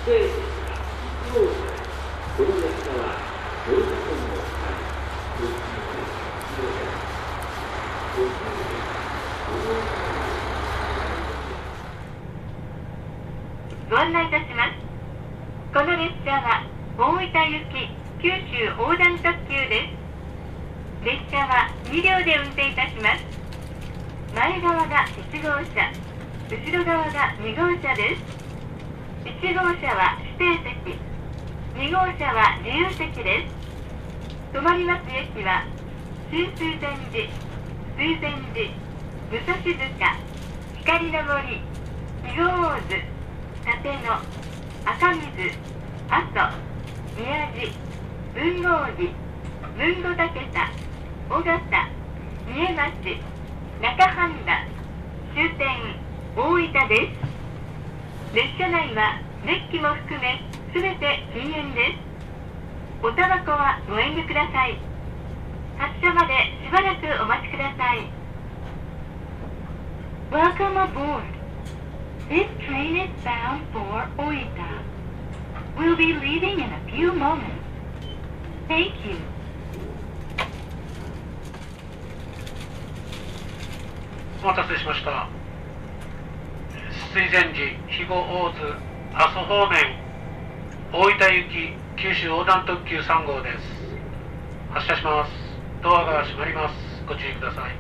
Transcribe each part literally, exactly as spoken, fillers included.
指定席がいち号車へ。この列車は乗車券を使い、ご注意必要です。ご注意です。 ご案内いたします。この列車は大分行き九州横断特急です。列車はに両で運転いたします。前側がいち号車、後ろ側がに号車です。いち号車は指定席、に号車は自由席です。止まります駅は新水前寺、水前寺、武蔵塚、光の森、肥後大津、立野、赤水、阿蘇、宮地、豊後寺、豊後竹田、尾形、三重町、中半田、終点大分です。列車内はデッキも含めすべて禁煙です。おタバコはご遠慮ください。発車までしばらくお待ちください。Welcome aboard. This train is bound for Oita. We'll be leaving in a few moments. Thank you. お待たせしました。水前寺、肥後大津、阿蘇方面、大分行き九州横断特急さん号です。発車します。ドアが閉まります。ご注意ください。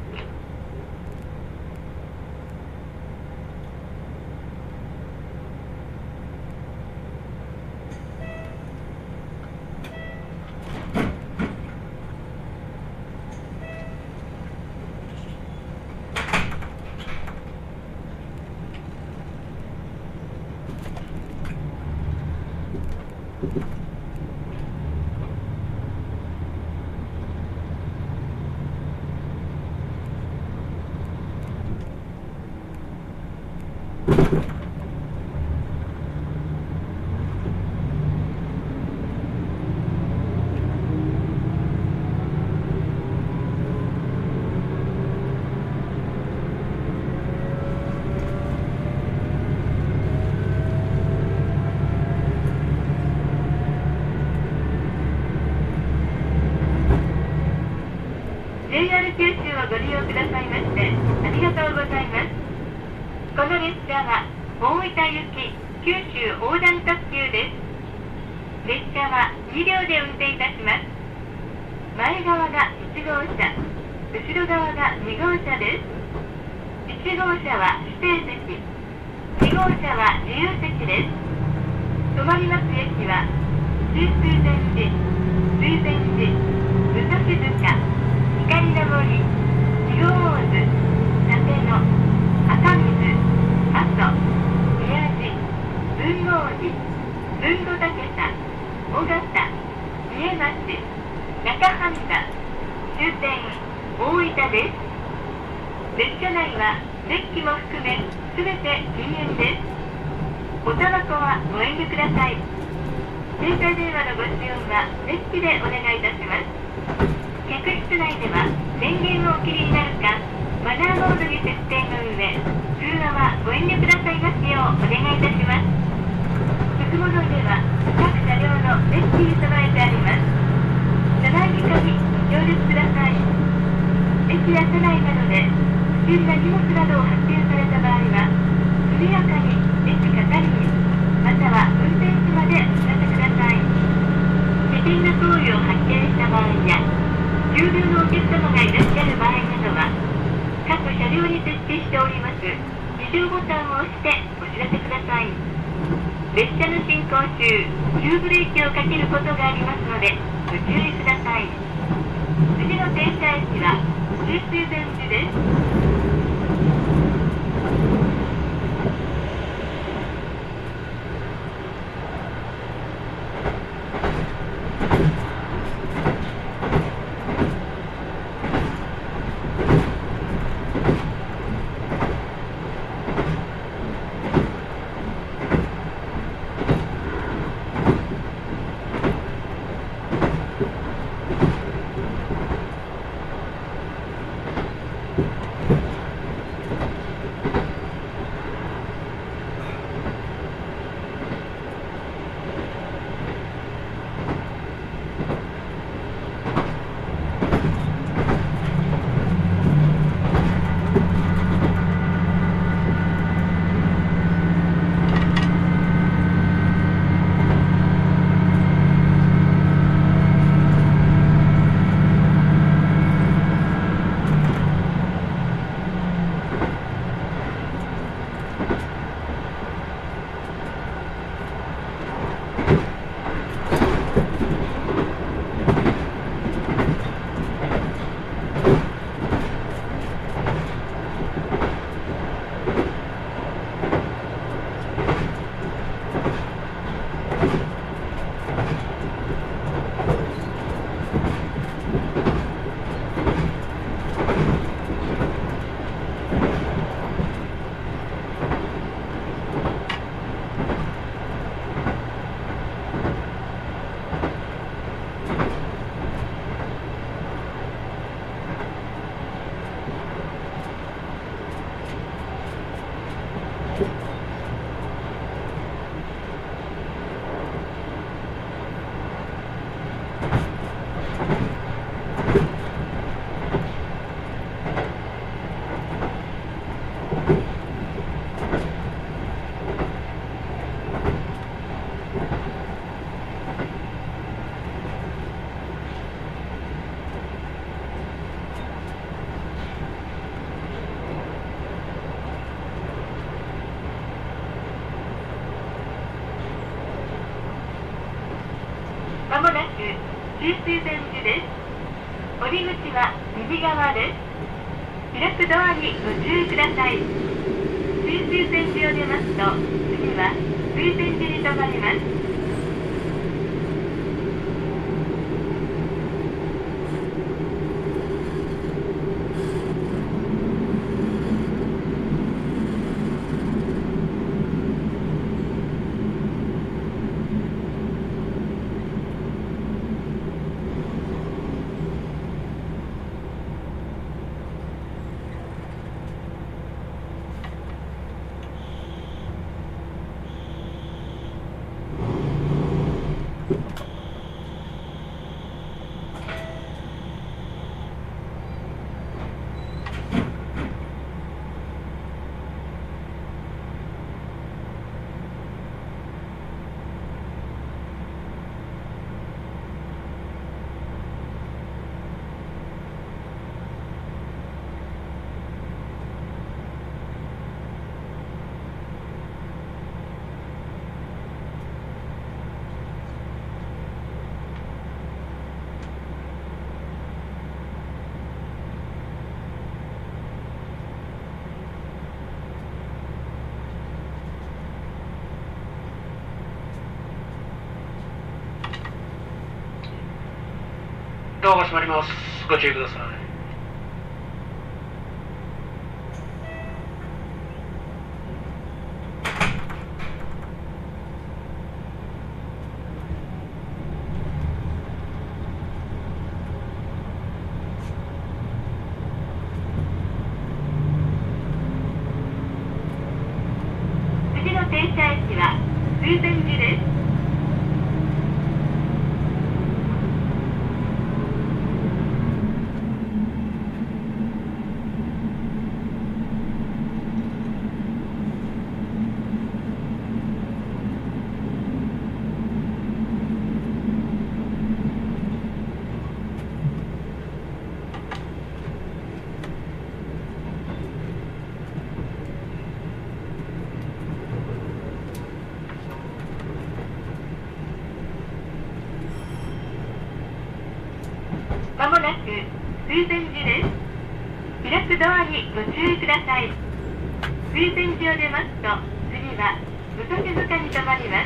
ジェイアール 九州をご利用くださいましてありがとうございます。この列車は大分行き九州横断特急です。列車はに両で運転いたします。前側がいち号車、後ろ側がに号車です。いち号車は指定席、に号車は自由席です。止まります駅は新水前寺、水前寺、武蔵塚、光の森、肥後大津、立野、赤水、阿蘇、宮地、豊後寺、豊後竹田、尾形、三重町、中半田、終点大分です。列車内はデッキも含めすべて禁煙です。おタバコはご遠慮ください。携帯電話のご使用はデッキでお願いいたします。客室内では電源をお切りになるかマナーモードに設定の上、通話はご遠慮くださいますようお願いいたします。服戻りでは各車両のデッキに備えてあります。車内理科にご協力ください。駅や車内などで不審な荷物などを発見された場合は速やかに駅係員または運転士までお知らせください。危険な行為を発見した場合や急病のお客様がいらっしゃる場合などは各車両に設置しております非常ボタンを押してお知らせください。列車の進行中急ブレーキをかけることがありますのでご注意ください。次の停車駅は新水前寺です。 まもなく中水線寺です。降り口は右側です。開くドアにご注意ください。中水線寺を出ますと、次は水線寺に停まります。 ドアが閉まります。ご注意ください。 次の停車駅は水仙寺です。まもなく水仙寺です。開くドアにご注意ください。水仙寺を出ますと、次は武蔵塚に停まります。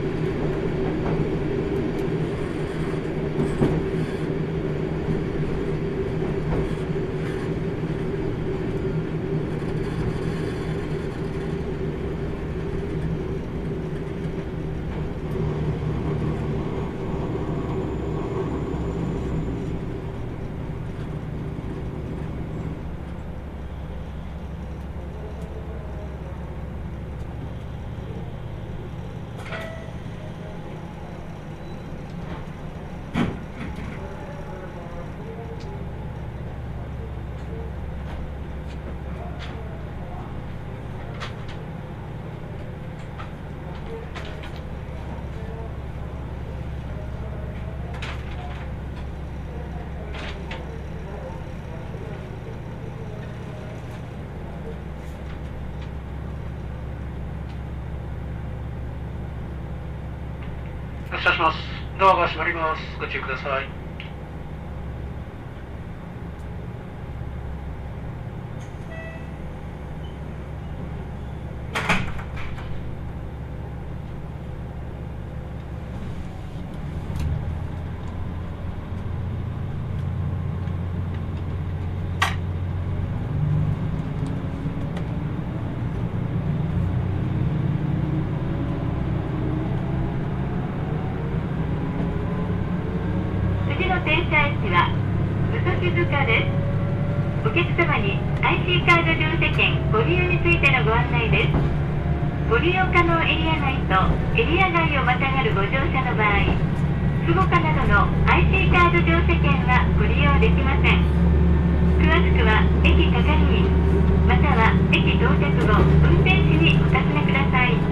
発車します。ドアが閉まります。ご注意ください。 車駅は嘘静かです。お客様に アイシー カード乗車券ご利用についてのご案内です。ご利用可能エリア内とエリア外をまたがるご乗車の場合、スゴカなどの アイシー カード乗車券はご利用できません。詳しくは駅係員または駅到着後運転士にお尋ねください。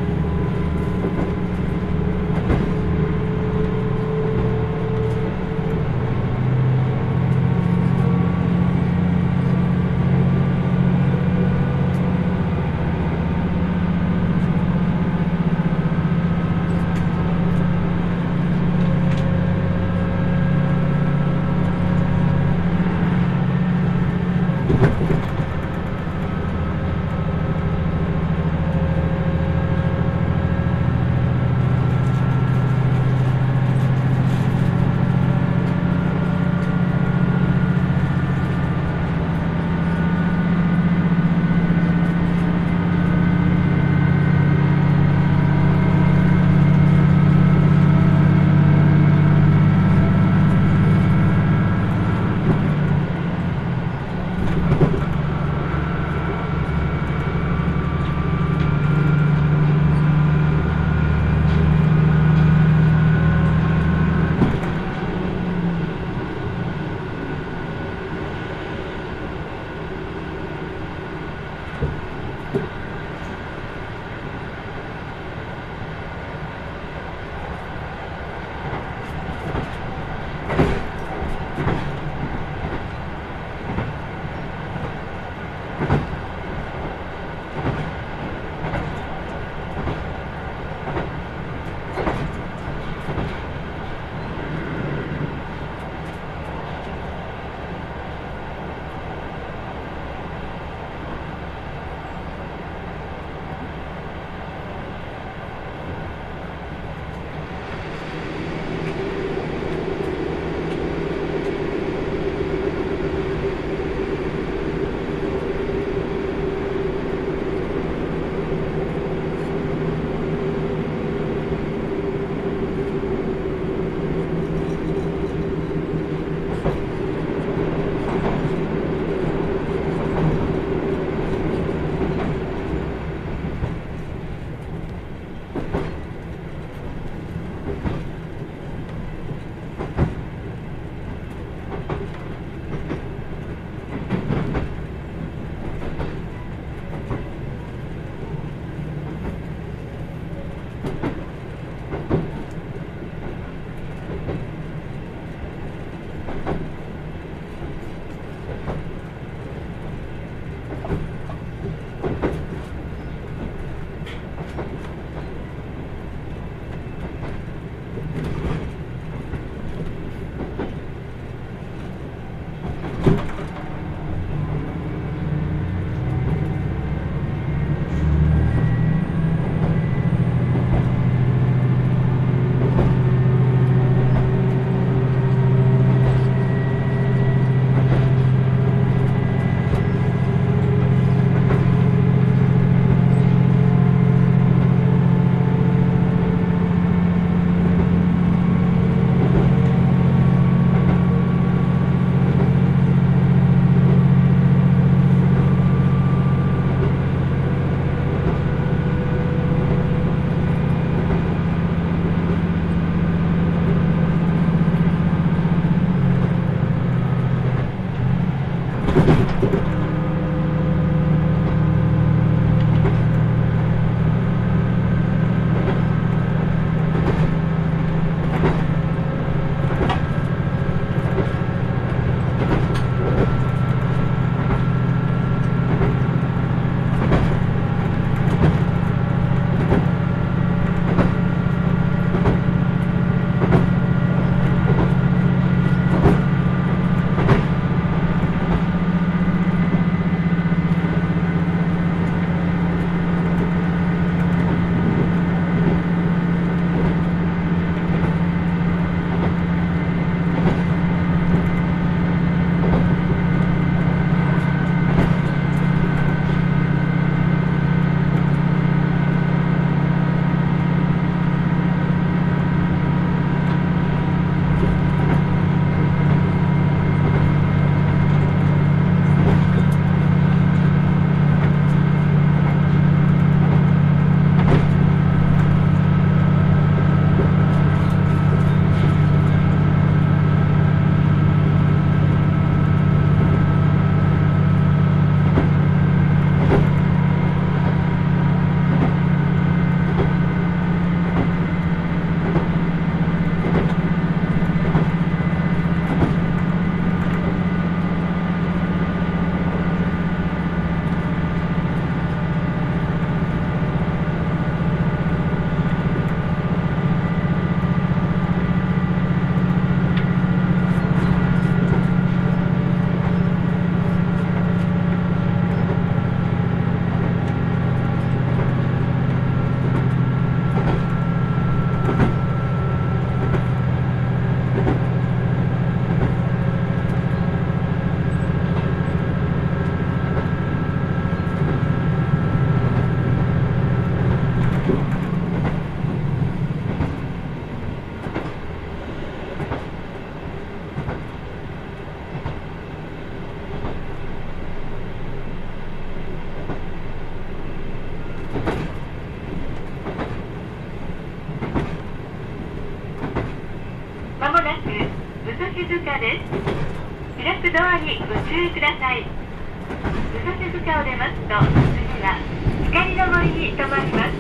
塚です。開くドアにご注意ください。武蔵塚を出ますと、次は光の森に停まります。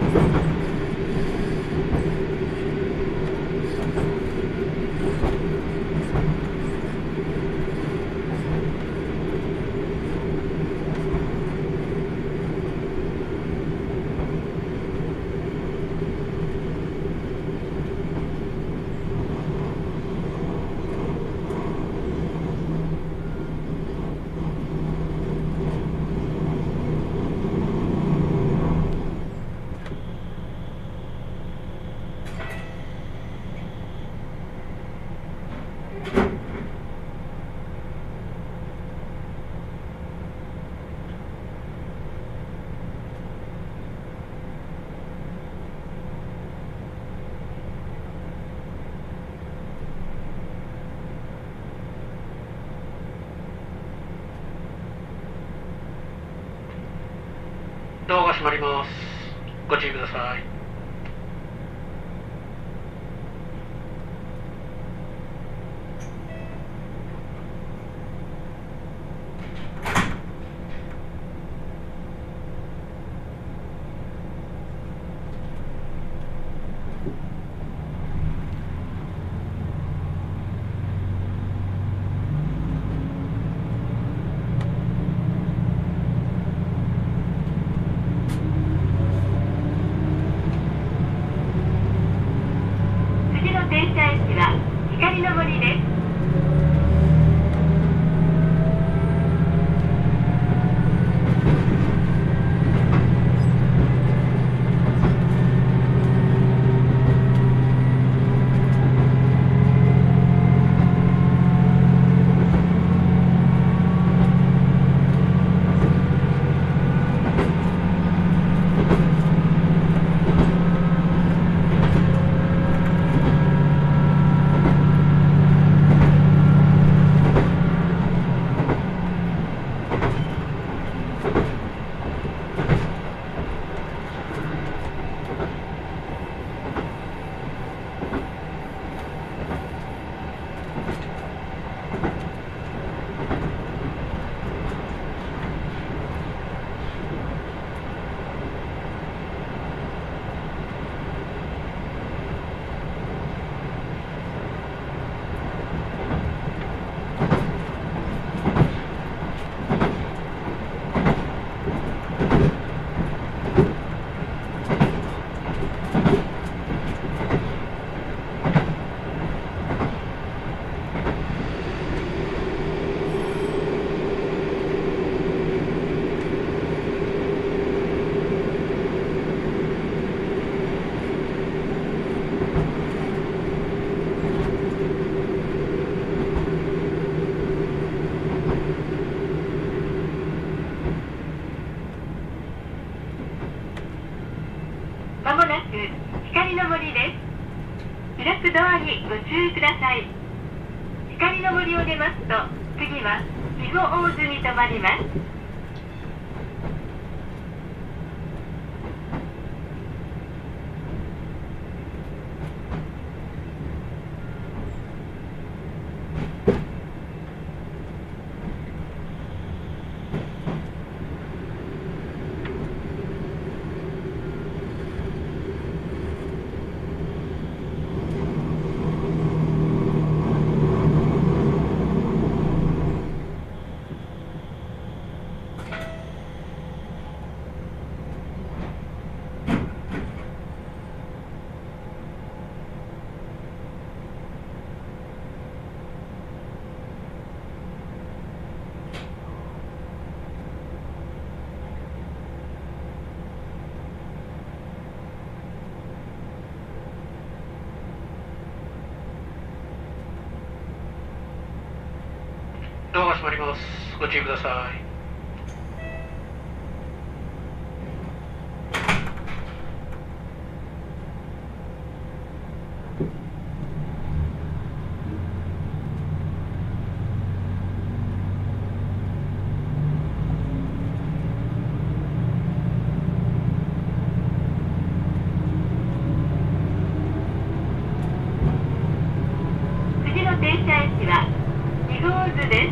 ドアが閉まります。ご注意ください。 停車駅は光の森です。まもなく光の森です。開くドアにご注意ください。光の森を出ますと、次は肥後大津に停まります。 ドアが閉まります。ご注意ください。 次の停車大津です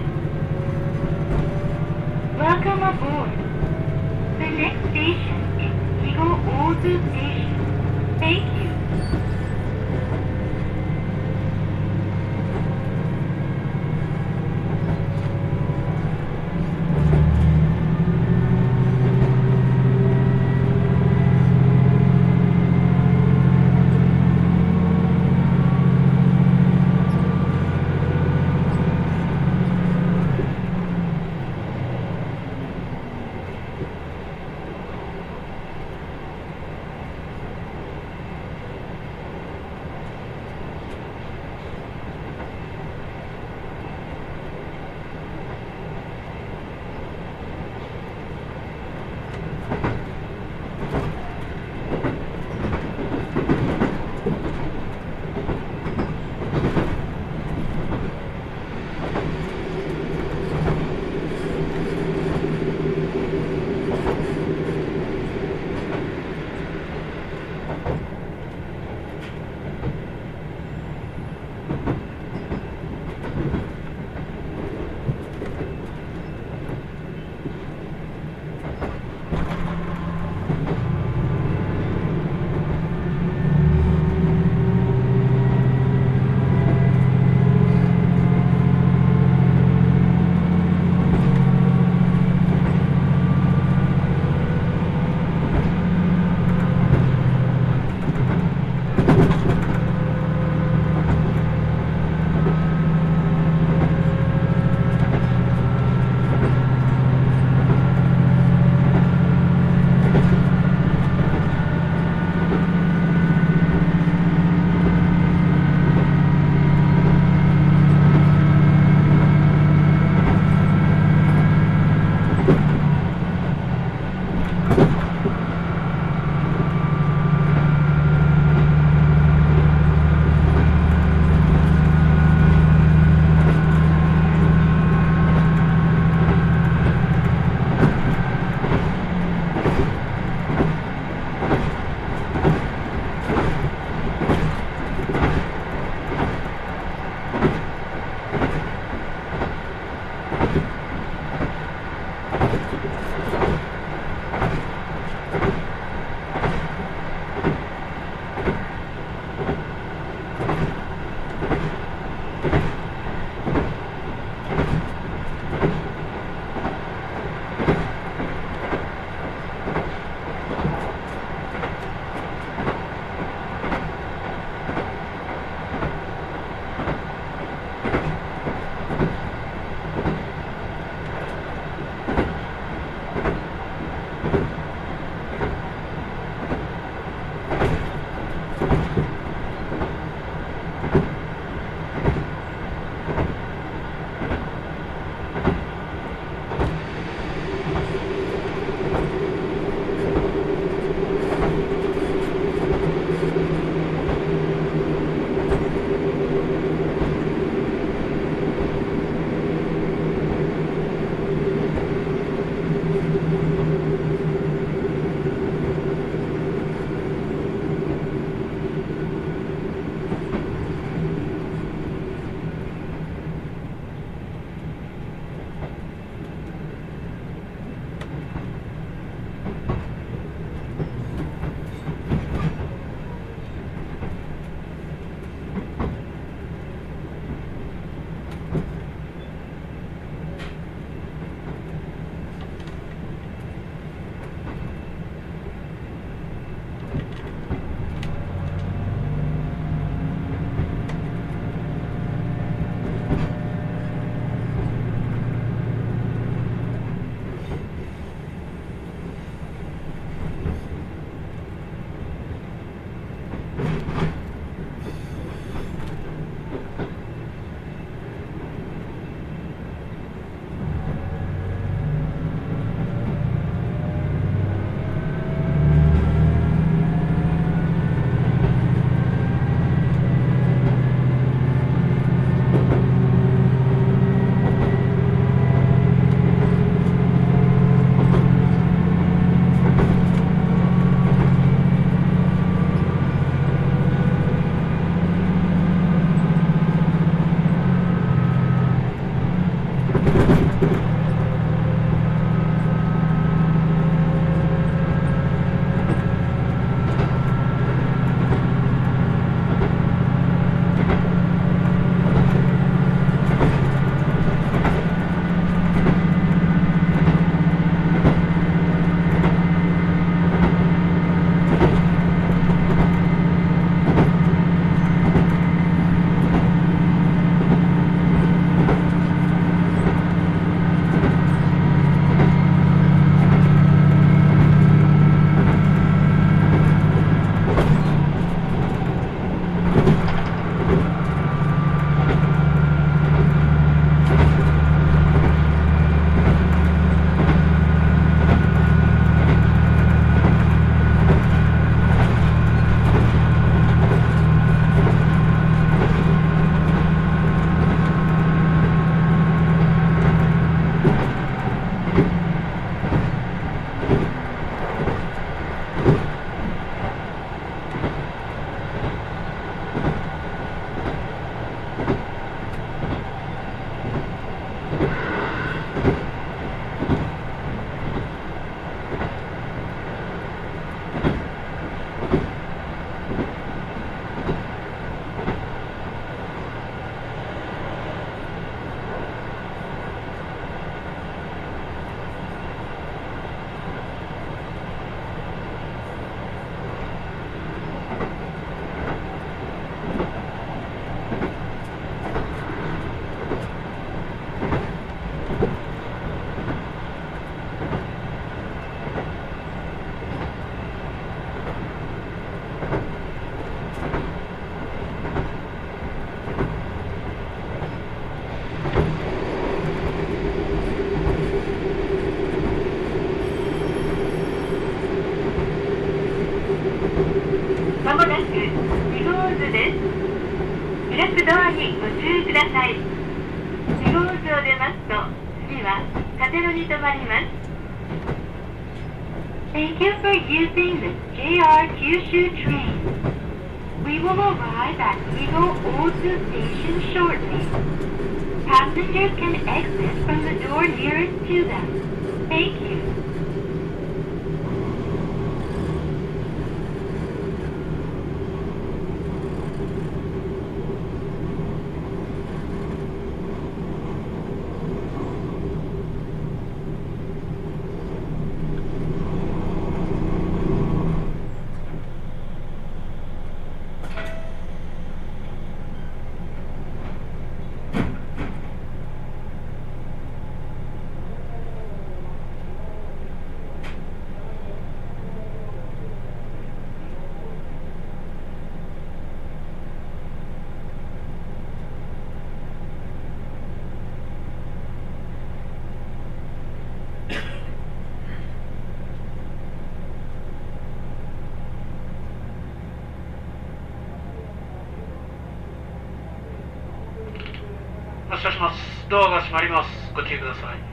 。Welcome aboard. The next station is Higo-Ozu Station. Thank you. 開くドアにご注意ください。四号図を出ますと、次は立野に停まります。Thank you for using the ジェイアール Kyushu train. We will arrive at Higo Ozu Station shortly. Passengers can exit from the door nearest to them. Thank you. 発車します。ドアが閉まります。ご注意ください。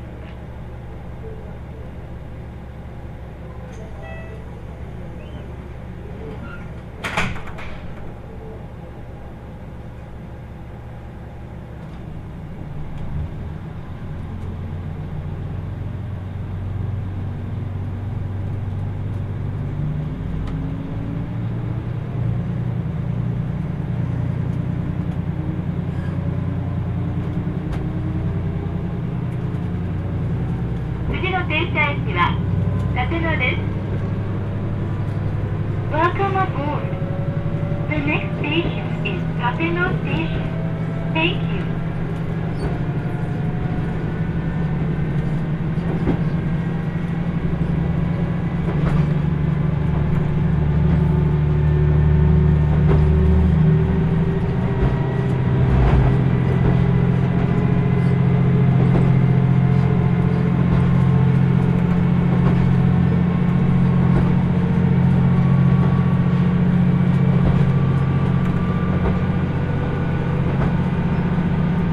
次の停車駅は立野です。Welcome aboard. The next station is Tateno Station. Thank you. 次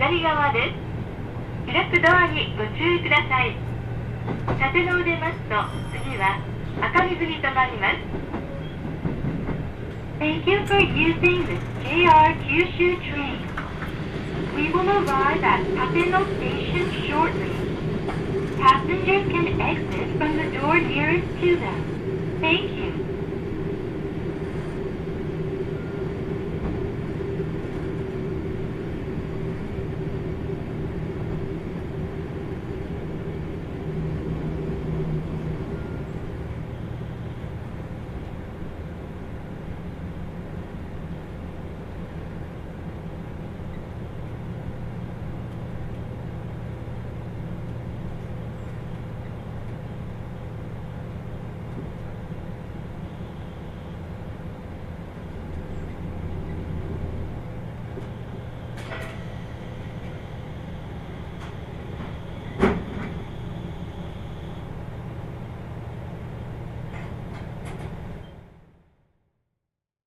左側です。開くドアにご注意ください。立野を出ますと、次は赤水に停まります。Thank you for using the ジェイアール Kyushu train. We will arrive at Tateno Station shortly. Passengers can exit from the door nearest to them. Thank you.